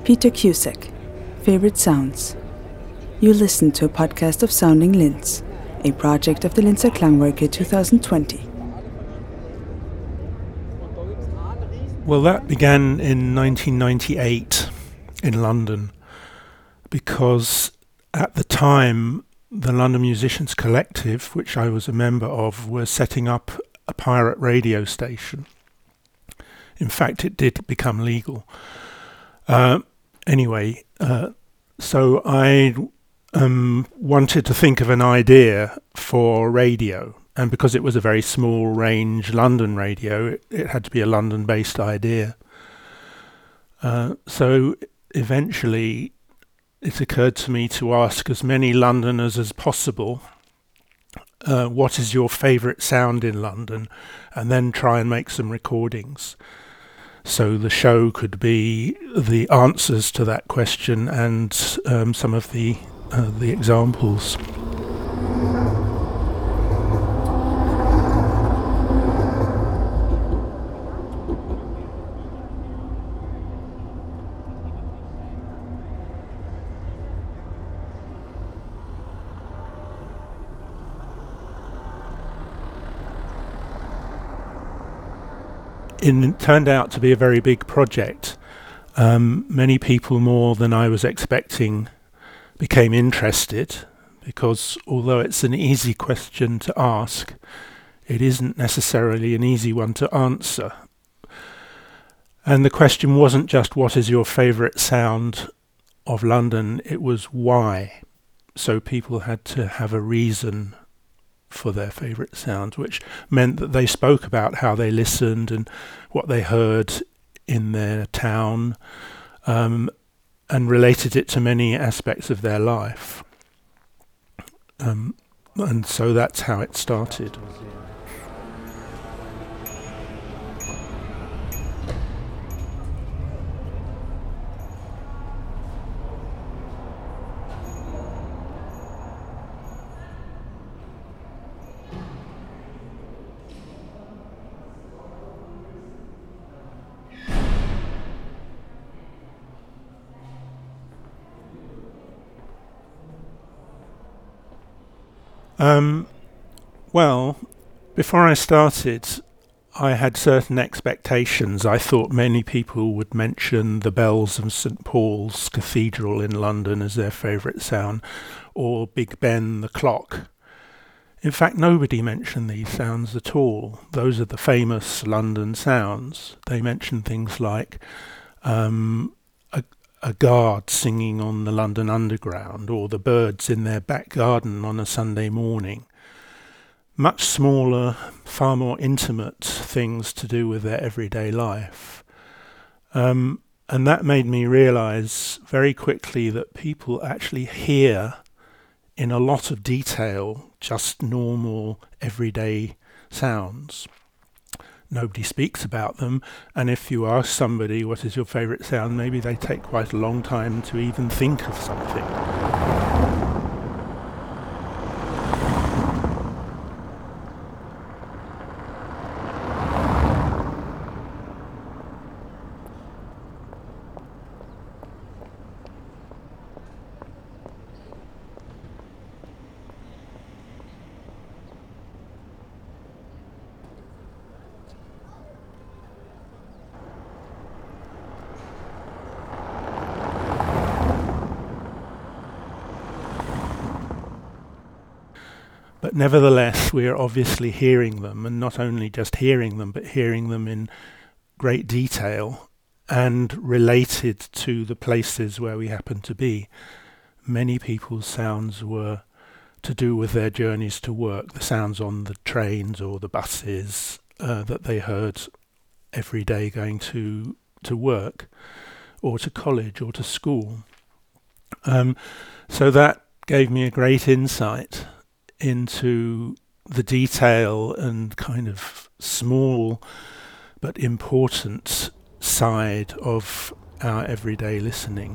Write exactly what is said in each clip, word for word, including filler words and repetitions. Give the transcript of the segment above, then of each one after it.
Peter Cusack, Favorite Sounds. You listen to a podcast of Sounding Linz, a project of the Linzer Klangwerke twenty twenty. Well, that began in nineteen ninety-eight in London, because at the time the London Musicians Collective, which I was a member of, were setting up a pirate radio station. In fact, it did become legal. Uh, anyway, uh, so I um, wanted to think of an idea for radio. And because it was a very small range London radio, it, it had to be a London-based idea. Uh, so eventually it occurred to me to ask as many Londoners as possible, uh, what is your favourite sound in London? And then try and make some recordings. So the show could be the answers to that question and um, some of the uh, the examples. It turned out to be a very big project. Um, many people, more than I was expecting, became interested, because although it's an easy question to ask, it isn't necessarily an easy one to answer. And the question wasn't just what is your favourite sound of London, it was why. So people had to have a reason for their favourite sounds, which meant that they spoke about how they listened and what they heard in their town, um, and related it to many aspects of their life. Um, and so that's how it started. Um, well, before I started, I had certain expectations. I thought many people would mention the bells of Saint Paul's Cathedral in London as their favourite sound, or Big Ben, the clock. In fact, nobody mentioned these sounds at all. Those are the famous London sounds. They mention things like um, a a guard singing on the London Underground, or the birds in their back garden on a Sunday morning. Much smaller, far more intimate things to do with their everyday life. Um, and that made me realise very quickly that people actually hear in a lot of detail just normal, everyday sounds. Nobody speaks about them, and if you ask somebody what is your favourite sound, maybe they take quite a long time to even think of something. But nevertheless, we are obviously hearing them, and not only just hearing them, but hearing them in great detail and related to the places where we happen to be. Many people's sounds were to do with their journeys to work, the sounds on the trains or the buses uh, that they heard every day going to to work or to college or to school. Um, so that gave me a great insight into the detail and kind of small but important side of our everyday listening.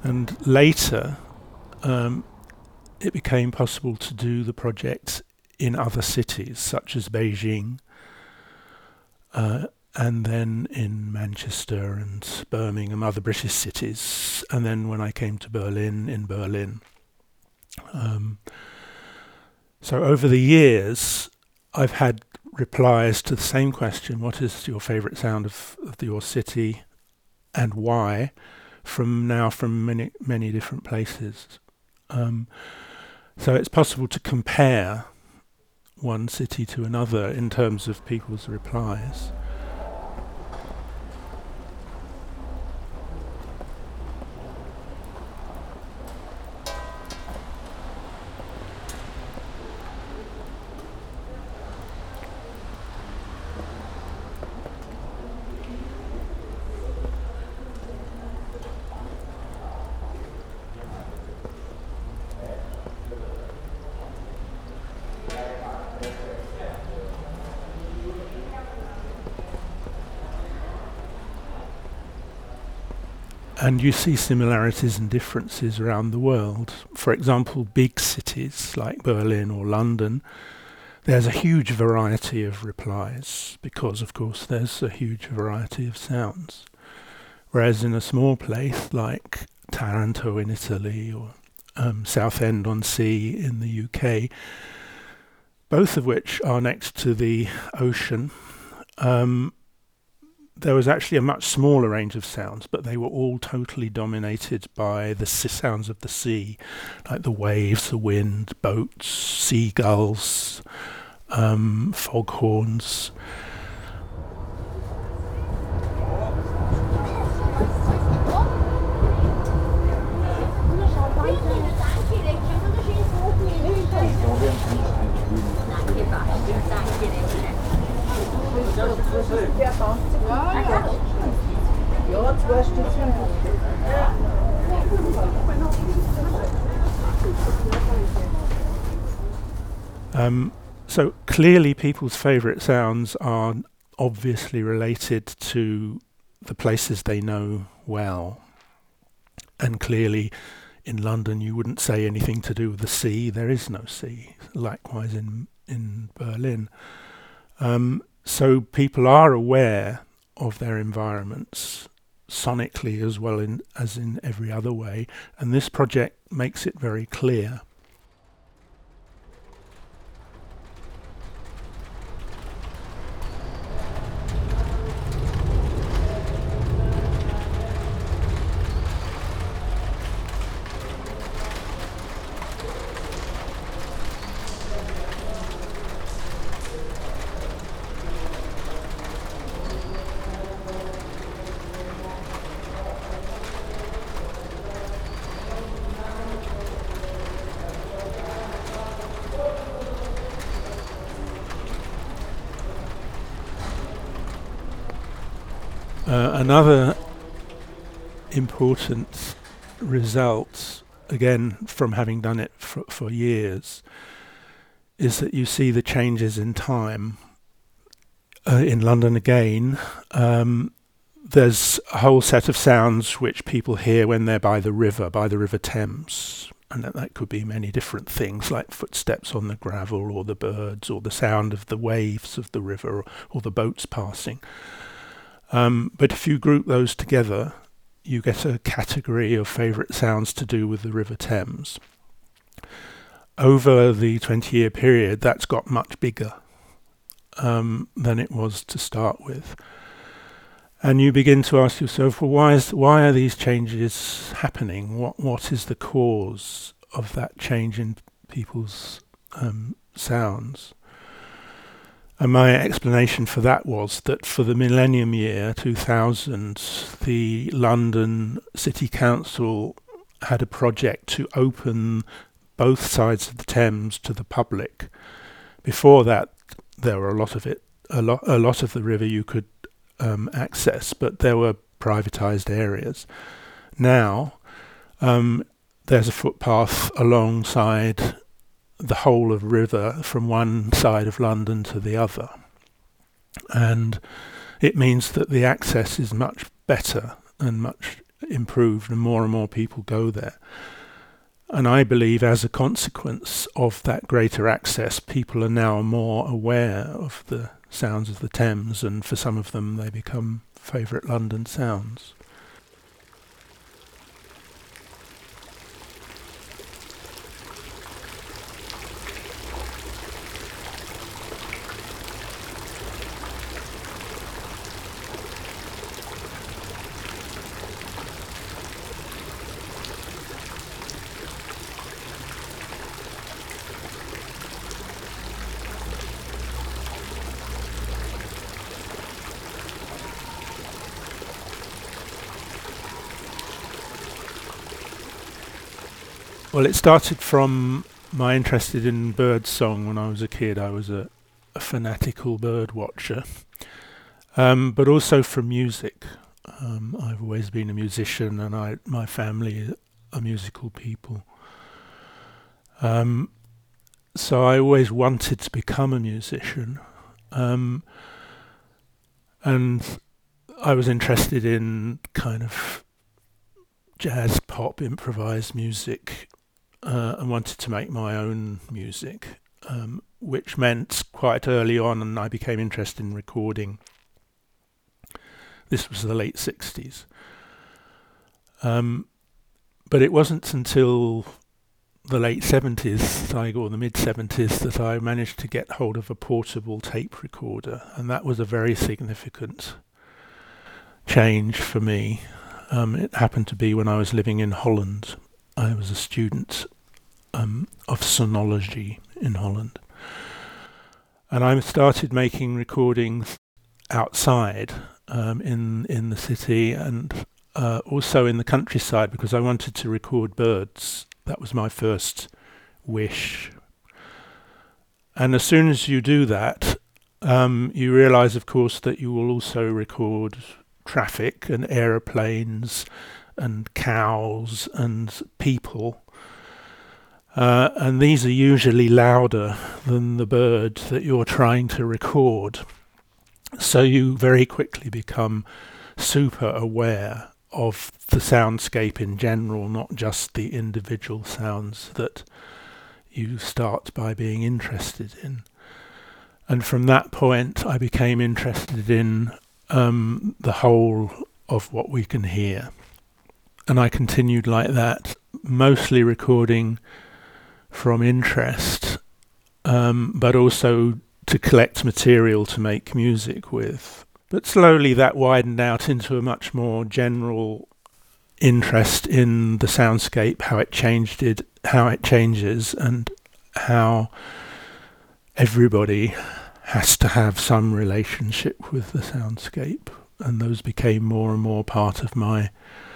And later, um, it became possible to do the project in other cities, such as Beijing, uh, and then in Manchester and Birmingham, other British cities, and then when I came to Berlin, in Berlin. Um, so over the years, I've had replies to the same question: what is your favourite sound of, of your city, and why? From now from many many different places. Um, so it's possible to compare one city to another in terms of people's replies. And you see similarities and differences around the world. For example, big cities like Berlin or London, there's a huge variety of replies because, of course, there's a huge variety of sounds. Whereas in a small place like Taranto in Italy or um, Southend-on-Sea in the U K, both of which are next to the ocean, um, there was actually a much smaller range of sounds, but they were all totally dominated by the s- sounds of the sea, like the waves, the wind, boats, seagulls, um, foghorns. Um, so clearly people's favourite sounds are obviously related to the places they know well. And clearly in London you wouldn't say anything to do with the sea. There is no sea. Likewise in, in Berlin. Um, so people are aware of their environments sonically as well in, as in every other way. And this project makes it very clear. Uh, another important result, again from having done it for, for years, is that you see the changes in time. Uh, in London again, um, there's a whole set of sounds which people hear when they're by the river, by the River Thames. And that, that could be many different things, like footsteps on the gravel, or the birds, or the sound of the waves of the river, or, or the boats passing. Um, but if you group those together, you get a category of favourite sounds to do with the River Thames. Over the twenty-year period, that's got much bigger um, than it was to start with. And you begin to ask yourself, well, why is why are these changes happening? What what is the cause of that change in people's um, sounds? And my explanation for that was that for the millennium year, two thousand, the London City Council had a project to open both sides of the Thames to the public. Before that, there were a lot of it, a lot, a lot of the river you could um, access, but there were privatised areas. Now, um, there's a footpath alongside the whole of river from one side of London to the other. And it means that the access is much better and much improved and more and more people go there. And I believe as a consequence of that greater access, people are now more aware of the sounds of the Thames, and for some of them they become favourite London sounds. Well, it started from my interest in bird song when I was a kid. I was a, a fanatical bird watcher, um, but also from music. Um, I've always been a musician, and I, my family are musical people. Um, so I always wanted to become a musician, um, and I was interested in kind of jazz, pop, improvised music. Uh, and wanted to make my own music, um, which meant quite early on, and I became interested in recording. This was the late sixties. Um, but it wasn't until the late seventies, or the mid-seventies, that I managed to get hold of a portable tape recorder, and that was a very significant change for me. Um, it happened to be when I was living in Holland. I was a student um, of sonology in Holland. And I started making recordings outside um, in in the city, and uh, also in the countryside, because I wanted to record birds. That was my first wish. And as soon as you do that, um, you realize, of course, that you will also record traffic and aeroplanes and cows and people. Uh, and these are usually louder than the bird that you're trying to record. So you very quickly become super aware of the soundscape in general, not just the individual sounds that you start by being interested in. And from that point, I became interested in um, the whole of what we can hear. And I continued like that, mostly recording from interest, um, but also to collect material to make music with. But slowly that widened out into a much more general interest in the soundscape, how it changed it, how it changes, and how everybody has to have some relationship with the soundscape. And those became more and more part of my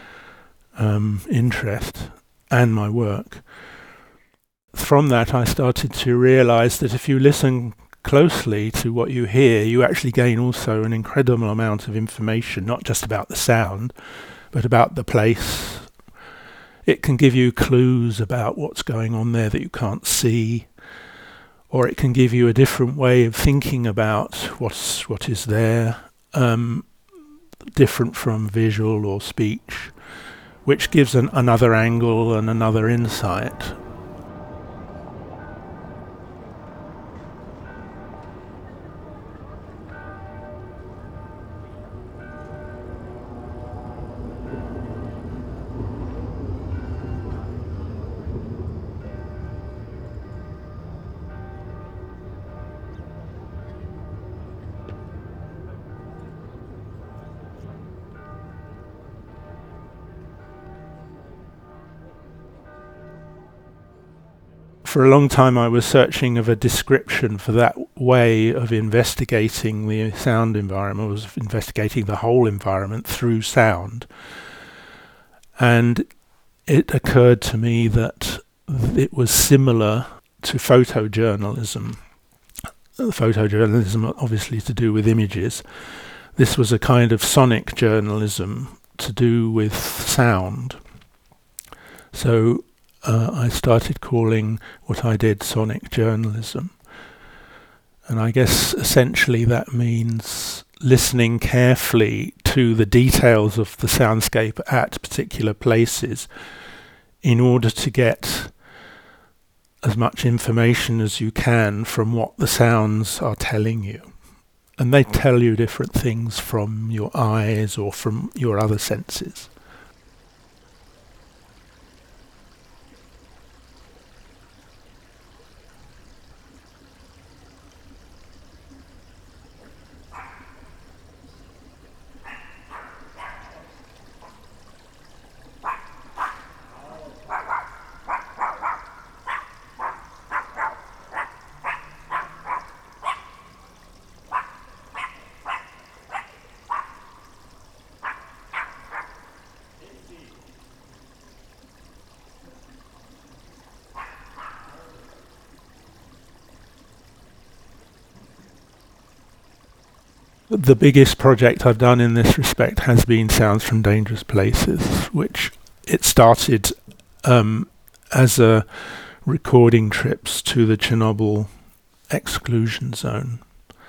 um, interest and my work. From that, I started to realize that if you listen closely to what you hear, you actually gain also an incredible amount of information, not just about the sound, but about the place. It can give you clues about what's going on there that you can't see, or it can give you a different way of thinking about what's what is there, um, different from visual or speech, which gives an, another angle and another insight. For a long time I was searching of a description for that way of investigating the sound environment. I was investigating the whole environment through sound. And it occurred to me that it was similar to photojournalism. Photojournalism obviously to do with images. This was a kind of sonic journalism to do with sound. So Uh, I started calling what I did sonic journalism. And I guess essentially that means listening carefully to the details of the soundscape at particular places in order to get as much information as you can from what the sounds are telling you. And they tell you different things from your eyes or from your other senses. The biggest project I've done in this respect has been Sounds from Dangerous Places, which it started um, as a recording trips to the Chernobyl exclusion zone.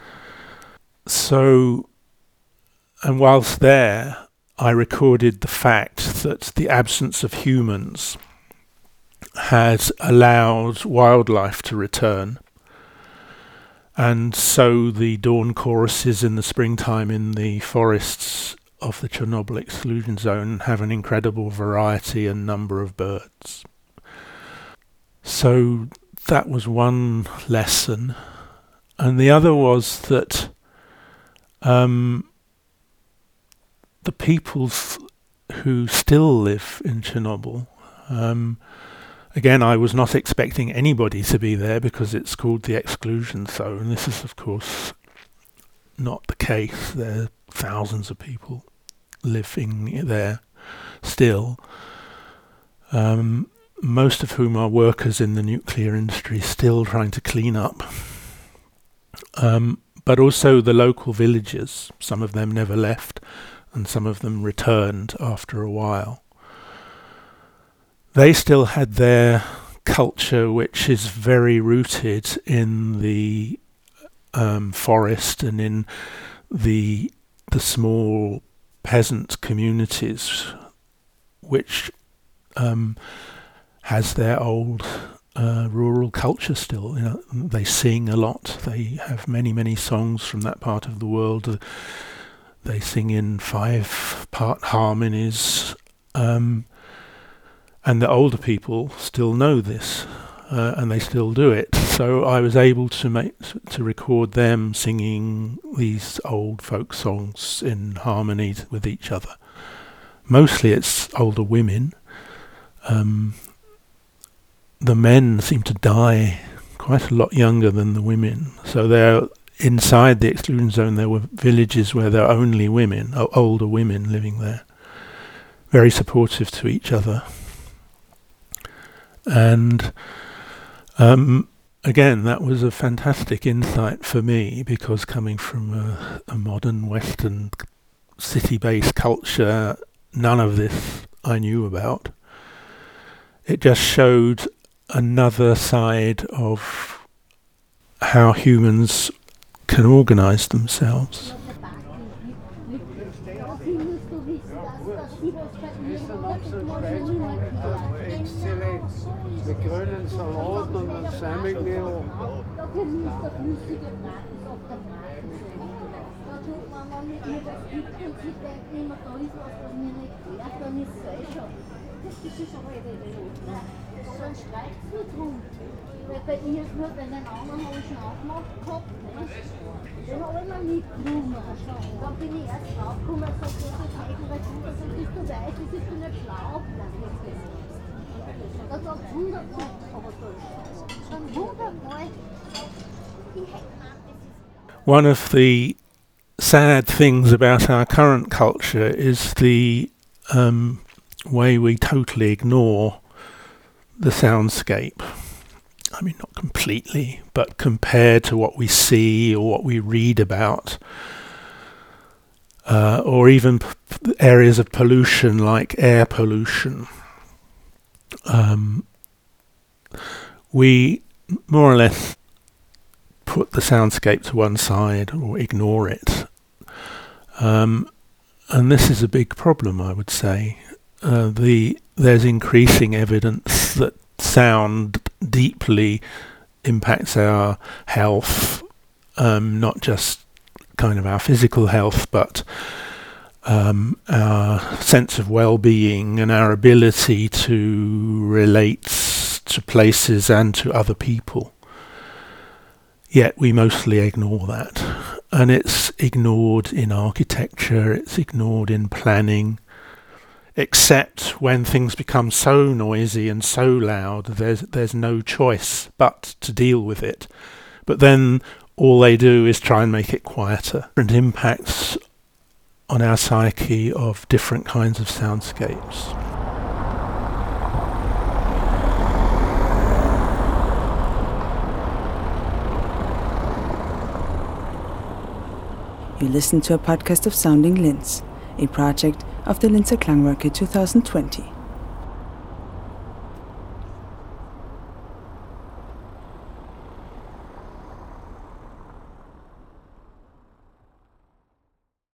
So, and whilst there, I recorded the fact that the absence of humans has allowed wildlife to return. And so the dawn choruses in the springtime in the forests of the Chernobyl exclusion zone have an incredible variety and number of birds. So that was one lesson. And the other was that um, the peoples who still live in Chernobyl, um, again, I was not expecting anybody to be there because it's called the exclusion zone. This is, of course, not the case. There are thousands of people living there still, um, most of whom are workers in the nuclear industry still trying to clean up. Um, but also the local villagers. Some of them never left and some of them returned after a while. They still had their culture, which is very rooted in the um, forest and in the the small peasant communities, which um, has their old uh, rural culture still. You know, they sing a lot. They have many, many songs from that part of the world. Uh, they sing in five-part harmonies. Um, And the older people still know this, uh, and they still do it. So I was able to make to record them singing these old folk songs in harmony with each other. Mostly it's older women. Um, the men seem to die quite a lot younger than the women. So they're inside the exclusion zone. There were villages where there are only women, o- older women living there, very supportive to each other. And um, again, that was a fantastic insight for me, because coming from a, a modern Western city-based culture, none of this I knew about. It just showed another side of how humans can organize themselves. Mit grünen Salat und einem Salmigmehl. Da genießt der flüssige Braten auf der Braten. Da tut man, wenn mit mir das gibt und sie denken immer, da ist was, was mir nicht gehört, dann ist es eh schon. Das ist es aber nicht so. Dann streicht es nur drum. Weil bei ihr ist nur, wenn den anderen habe ich schon aufgemacht gehabt, nicht? Den habe ich mir mitgenommen. Dann bin ich erst draufgekommen und gesagt, das ist Hegel, weil du das bist du weiß, das ist du nicht schlau. Das war hundertmal, aber so schon hundertmal. One of the sad things about our current culture is the um, way we totally ignore the soundscape. I mean, not completely, but compared to what we see or what we read about, uh, or even p- areas of pollution like air pollution. Um, we more or less put the soundscape to one side or ignore it. Um, And this is a big problem, I would say. Uh, the there's increasing evidence that sound deeply impacts our health, um, not just kind of our physical health, but um, our sense of well-being and our ability to relate to places and to other people. Yet we mostly ignore that. And it's ignored in architecture, it's ignored in planning, except when things become so noisy and so loud, there's there's no choice but to deal with it. But then all they do is try and make it quieter. Different impacts on our psyche of different kinds of soundscapes. You listen to a podcast of Sounding Linz, a project of the Linzer Klangwerke twenty twenty.